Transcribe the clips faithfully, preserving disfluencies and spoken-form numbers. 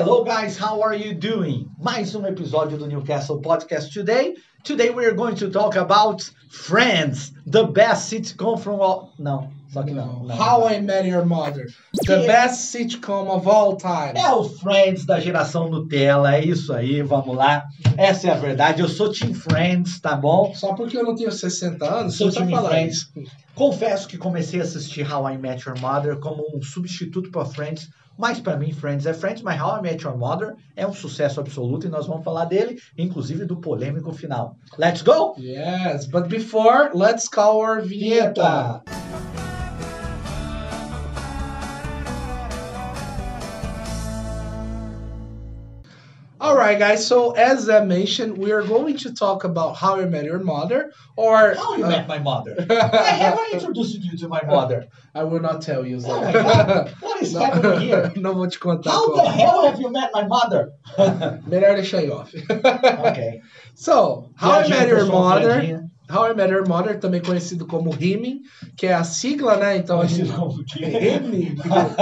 Hello guys, how are you doing? Mais um episódio do Newcastle Podcast today. Today we are going to talk about Friends, the best sitcom from all... Não, só que não. não How não. I Met Your Mother, the Que- best sitcom of all time. É o Friends da geração Nutella, é isso aí, vamos lá. Essa é a verdade, eu sou Team Friends, tá bom? Só porque eu não tenho sessenta anos, Sou você tá time falando Friends. isso. Confesso que comecei a assistir How I Met Your Mother como um substituto para Friends, mas para mim Friends é Friends, mas How I Met Your Mother é um sucesso absoluto e nós vamos falar dele, inclusive do polêmico final. Let's go? Yes, but before, let's call our vinheta. Alright guys, so as I mentioned, we are going to talk about How I Met Your Mother, or... How you uh, met my mother? I haven't introduced you to my mother. I will not tell you, Zé. Oh my God, what is happening here? Não vou te contar. How como. the hell have you met my mother? Melhor deixar em off. Ok. So, How I Piadinha, Met Your pessoal, Mother... piadinha. How I Met Your Mother, também conhecido como Rimming, que é a sigla, né? Então a gente... Conhecido como o quê? Rimming.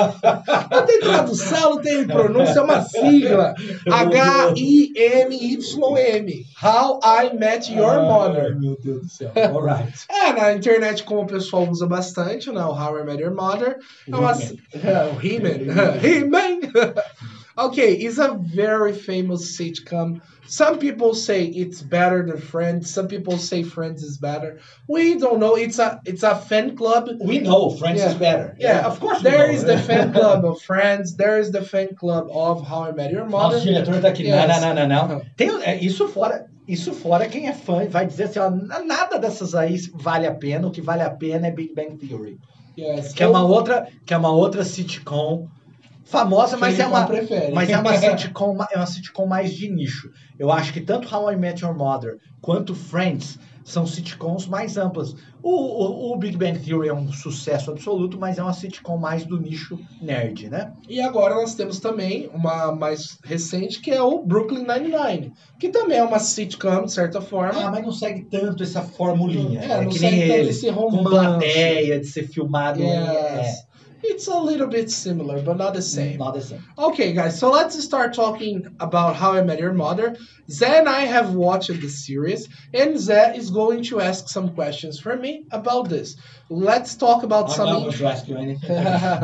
Não tem tradução, não tem pronúncia, é uma sigla. H I M Y M. How I Met Your Ai, Mother. meu Deus do céu. Alright. É, na internet, como o pessoal usa bastante, né? O How I Met Your Mother. É uma... É, o He-Man. He-Man. Okay, it's a very famous sitcom. Some people say it's better than Friends. Some people say Friends is better. We don't know. It's a it's a fan club. We know Friends Yeah. is better. Yeah, of course we there know. is the fan club of Friends. There is the fan club of How I Met Your Mother. Nosso diretor tá aqui. Yes. Não, não, não, não, não. Tem, é, isso fora, isso fora quem é fã vai dizer assim, ó, nada dessas aí vale a pena. O que vale a pena é Big Bang Theory, Yes. que é uma outra, que é uma outra sitcom famosa, mas é uma prefere. mas é uma sitcom, é uma sitcom mais de nicho. Eu acho que tanto How I Met Your Mother quanto Friends são sitcoms mais amplas. O, o, o Big Bang Theory é um sucesso absoluto, mas é uma sitcom mais do nicho nerd, né? E agora nós temos também uma mais recente, que é o Brooklyn Nine-Nine, que também é uma sitcom, de certa forma. Ah, mas não segue tanto essa formulinha. É, É, não que segue nem tanto ele. esse Com romance. plateia, de ser filmado. Yes. It's a little bit similar, but not the É, same. not the same. Okay, guys, so let's start talking about How I Met Your Mother. Zé and I have watched the series, and Zé is going to ask some questions from me about this. Let's talk about I'm some... not going to ask you anything.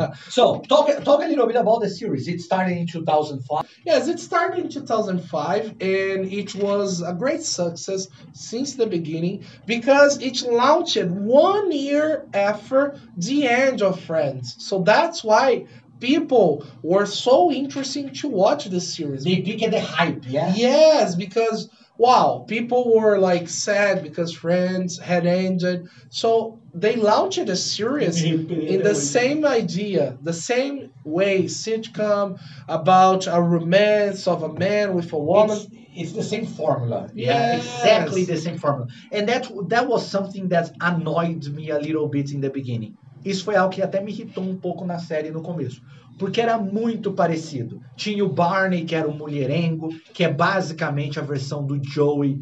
So, talk, talk a little bit about the series. It started in two thousand five. Yes, it started in two thousand five, and it was a great success since the beginning because it launched one year after the end of Friends. So that's why people were so interested to watch the series. They picked the hype, yeah? Yes, because wow, people were like sad because Friends had ended. So they launched a series in the same idea, the same way, sitcom about a romance of a man with a woman. It's, it's the same formula. Yeah, Yes. exactly the same formula. And that, that was something that annoyed me a little bit in the beginning. Isso foi algo que até me irritou um pouco na série no começo. Porque era muito parecido. Tinha o Barney, que era o mulherengo, que é basicamente a versão do Joey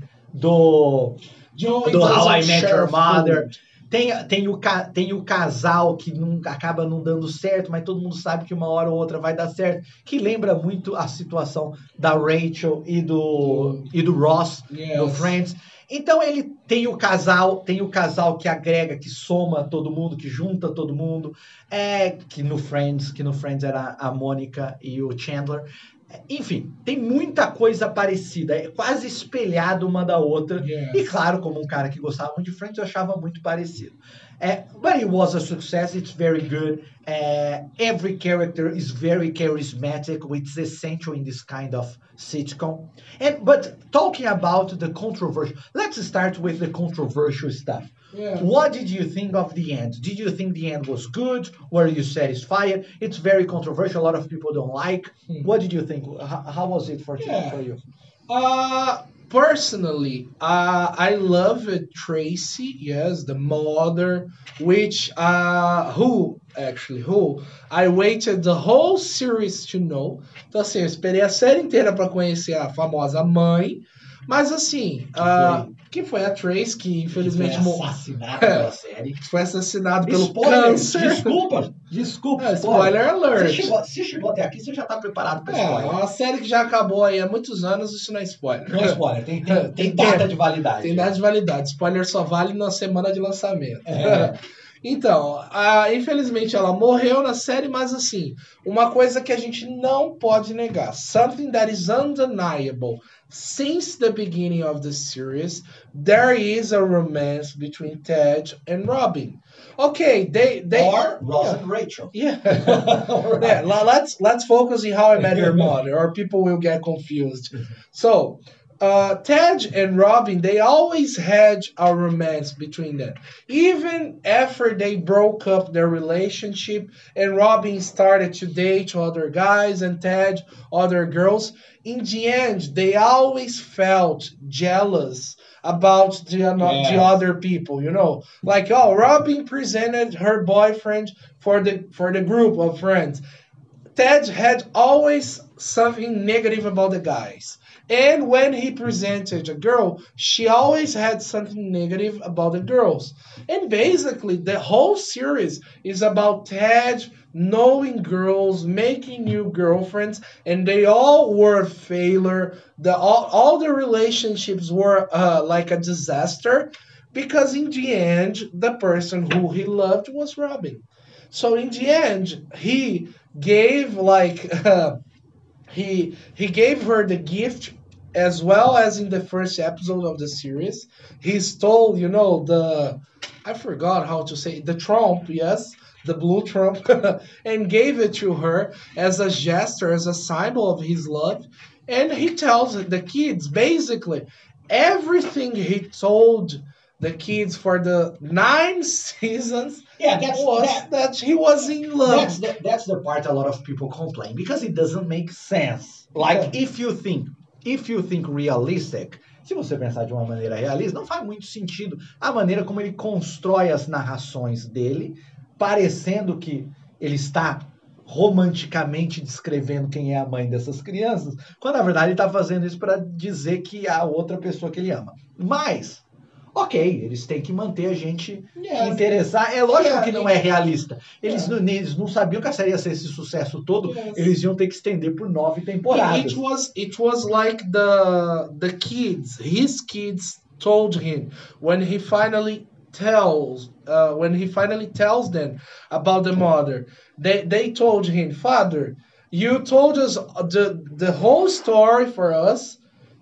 do, Joey do How doesn't I Met share Your Mother. food. Tem, tem, o, ca- tem o casal que não, acaba não dando certo, mas todo mundo sabe que uma hora ou outra vai dar certo. Que lembra muito a situação da Rachel e do, e do Ross Yes. no Friends. Então ele tem o casal, tem o casal que agrega, que soma todo mundo, que junta todo mundo, é, que no Friends, que no Friends era a Mônica e o Chandler. Enfim, tem muita coisa parecida, é quase espelhado uma da outra. Yes. E claro, como um cara que gostava muito de Friends, eu achava muito parecido. É, but it was a success, it's very good. É, every character is very charismatic, which is essential in this kind of sitcom. And, but talking about the controversial, let's start with the controversial stuff. Yeah. What did you think of the end? Did you think the end was good? Were you satisfied? It's very controversial. A lot of people don't like. Hmm. What did you think? How, how was it for, Yeah. for you? Uh, personally, uh, I love Tracy, yes, the mother, which, uh, who, actually, who, I waited the whole series to know. Então, assim, eu esperei a série inteira para conhecer a famosa mãe, Mas assim, Que ah, foi- que foi a Trace, que Que infelizmente foi mo- assassinado pela série. foi assassinado pelo Spoiler, câncer. desculpa, desculpa, Ah, spoiler. spoiler alert. Você chegou, se chegou até aqui, você já tá preparado para É, spoiler. uma série que já acabou aí há muitos anos, isso não é spoiler. Não é spoiler, tem, tem, tem, Tem data tempo. de validade. Tem data de validade. Spoiler só vale na semana de lançamento. É. Então, a- infelizmente ela morreu na série, mas assim, uma coisa que a gente não pode negar, something that is undeniable. Since the beginning of the series, there is a romance between Ted and Robin. Okay, they they Or Ross and Rachel. yeah. Yeah, le- let's let's focus on How I Met Your Mother, or people will get confused. So, uh, Ted and Robin, they always had a romance between them. Even after they broke up their relationship and Robin started to date other guys and Ted other girls, in the end, they always felt jealous about the, ano- the Yes. other people, you know, like oh, Robin presented her boyfriend for the for the group of friends. Ted had always something negative about the guys. And when he presented a girl, she always had something negative about the girls. And basically, the whole series is about Ted knowing girls, making new girlfriends, and they all were a failure. The all, all the relationships were uh, like a disaster because in the end, the person who he loved was Robin. So in the end, he gave like uh, he he gave her the gift as well as in the first episode of the series. He stole, you know, the I forgot how to say the trump, yes, the blue trump, and gave it to her as a gesture, as a symbol of his love. And he tells the kids basically everything he told the kids for the nine seasons Yeah, that's was that, that he was in love. that's the, that's the part a lot of people complain because it doesn't make sense. Like Yeah. if you think if you think realistic, se você pensar de uma maneira realista, não faz muito sentido a maneira como ele constrói as narrações dele, parecendo que ele está romanticamente descrevendo quem é a mãe dessas crianças, quando na verdade ele está fazendo isso para dizer que é a outra pessoa que ele ama. Mas ok, eles têm que manter a gente Yes. interessar. É lógico Yeah, que não é realista. Eles, Yeah. não, eles não sabiam que a série ia ser esse sucesso todo. Yes. Eles iam ter que estender por nove temporadas. It was it was like the the kids, his kids told him when he finally tells uh, when he finally tells them about the mother. They they told him, "Father, you told us the the whole story for us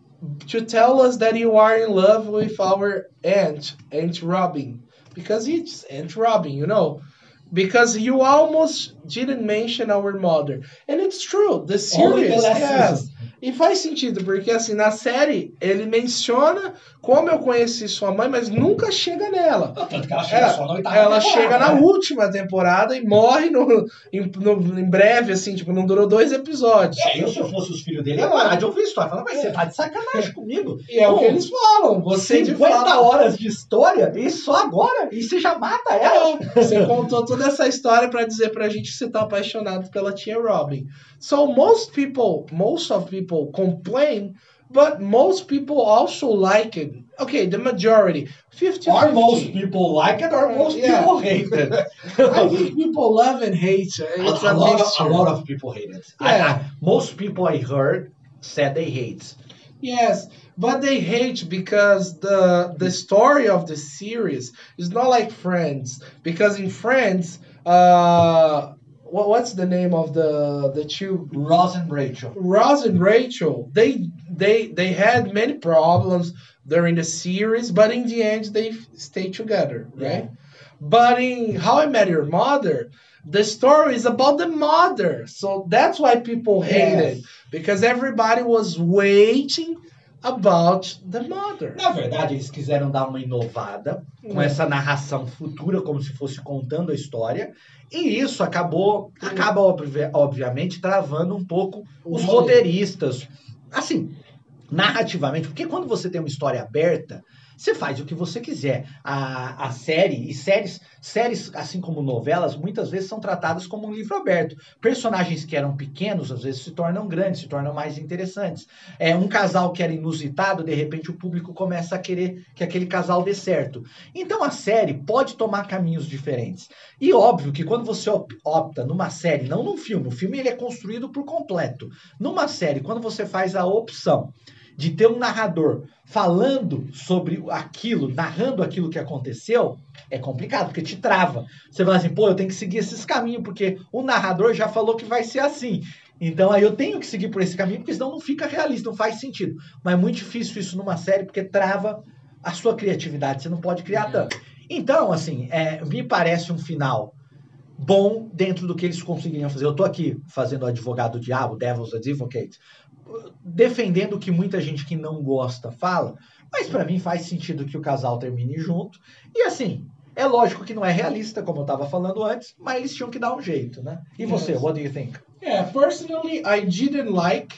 to tell us that you are in love with our aunt, Aunt Robin, because it's Aunt Robin, you know." Because you almost didn't mention our mother. And it's true, the Only the series, last yes. season. E faz sentido, porque assim, na série, ele menciona como eu conheci sua mãe, mas nunca chega nela. Tanto que ela chega É, só na oitava ela temporada, chega na né? última temporada e morre no, em, no- em breve, assim, tipo, não durou dois episódios. É, eu se eu fosse os filhos dele, ia parar de ouvir história. Falando, mas você tá de sacanagem comigo. E é o Pô, que eles falam. Você de cinquenta fato. horas de história e só agora? E você já mata ela? É, você contou toda essa história pra dizer pra gente que você tá apaixonado pela tia Robin. So most people, most of people complain, but most people also like it. Okay, the majority, fifty Or most fifty. people like it, or most Yeah. people hate it. I think people love and hate. It's a, a, a, lot of, a mixture. lot of people hate it. I- Yeah. I- most people I heard said they hate. Yes, but they hate because the the story of the series is not like Friends. Because in Friends, uh, what, what's the name of the the two Ross and Rachel. Ross and Rachel? They they they had many problems during the series, but in the end they f- stayed together, right? But in How I Met Your Mother, the story is about the mother, so that's why people hate Yes. it because everybody was waiting about the mother. Na verdade, eles quiseram dar uma inovada com Hum. essa narração futura, como se fosse contando a história, e isso acabou, Hum. acaba obvi- obviamente travando um pouco os Hum. roteiristas. Assim, narrativamente, porque quando você tem uma história aberta, você faz o que você quiser. A, a série, e séries, séries, assim como novelas, muitas vezes são tratadas como um livro aberto. Personagens que eram pequenos, às vezes se tornam grandes, se tornam mais interessantes. É, um casal que era inusitado, de repente o público começa a querer que aquele casal dê certo. Então a série pode tomar caminhos diferentes. E óbvio que quando você opta numa série, não num filme, o filme ele é construído por completo. Numa série, quando você faz a opção de ter um narrador falando sobre aquilo, narrando aquilo que aconteceu, é complicado, porque te trava. Você fala assim, pô, eu tenho que seguir esses caminhos, porque o narrador já falou que vai ser assim. Então aí eu tenho que seguir por esse caminho, porque senão não fica realista, não faz sentido. Mas é muito difícil isso numa série, porque trava a sua criatividade, você não pode criar tanto. Então, assim, é, me parece um final bom dentro do que eles conseguiriam fazer. Eu tô aqui fazendo o advogado do diabo, Devil's Advocate, defendendo o que muita gente que não gosta fala, mas para mim faz sentido que o casal termine junto. E assim, é lógico que não é realista, como eu estava falando antes, mas eles tinham que dar um jeito, né? E você, yes. What do you think? Yeah, personally, I didn't like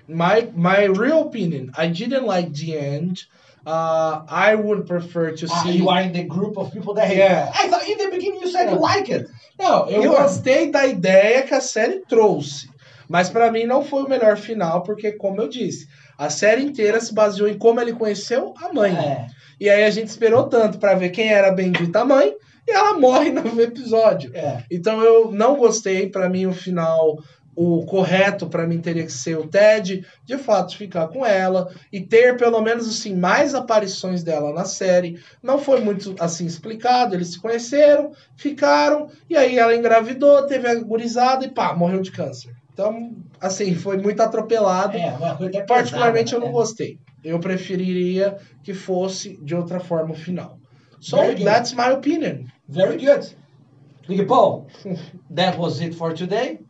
my my real opinion. I didn't like the end. Uh, I would prefer to ah, see. You are in the group of people that hate. Yeah. I thought in the beginning you said yeah. you like it. Não, eu you gostei are... da ideia que a série trouxe. Mas pra mim não foi o melhor final, porque, como eu disse, a série inteira se baseou em como ele conheceu a mãe. É. E aí a gente esperou tanto pra ver quem era a bendita mãe, e ela morre no episódio. É. Então eu não gostei, pra mim o final, o correto pra mim teria que ser o Ted, de fato, ficar com ela, e ter pelo menos assim, mais aparições dela na série. Não foi muito assim explicado, eles se conheceram, ficaram, e aí ela engravidou, teve a gurizada e pá, morreu de câncer. Então, assim, foi muito atropelado. É, uma coisa pesada, particularmente, eu não é. gostei. Eu preferiria que fosse de outra forma o final. So, that's my opinion. Very good. Big Paul, that was it for today.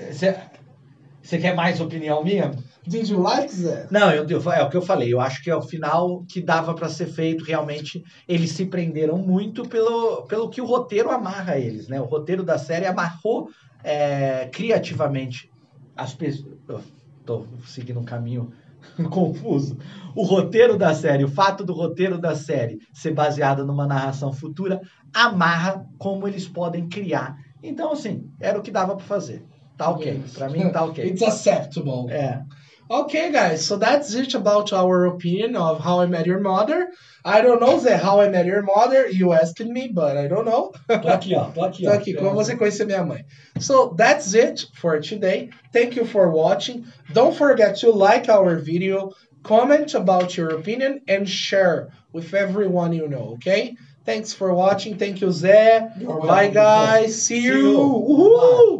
Você quer mais opinião minha? Did you like that? Não, eu, eu, é o que eu falei. Eu acho que é o final que dava para ser feito. Realmente, eles se prenderam muito pelo, pelo que o roteiro amarra eles, né? O roteiro da série amarrou é, criativamente as pessoas. Estou seguindo um caminho confuso. O roteiro da série, o fato do roteiro da série ser baseado numa narração futura, amarra como eles podem criar. Então, assim, era o que dava para fazer. Tá ok. Yes. Para mim, tá ok. It's acceptable. É. Okay, guys, so that's it about our opinion of How I Met Your Mother. I don't know, Zé, How I Met Your Mother. You asked me, but I don't know. Tô aqui, ó. Tô aqui, tô aqui, ó. Como você conheceu minha mãe. So that's it for today. Thank you for watching. Don't forget to like our video, comment about your opinion, and share with everyone you know, okay? Thanks for watching. Thank you, Zé. Bye, guys. See you. See you. Uhul.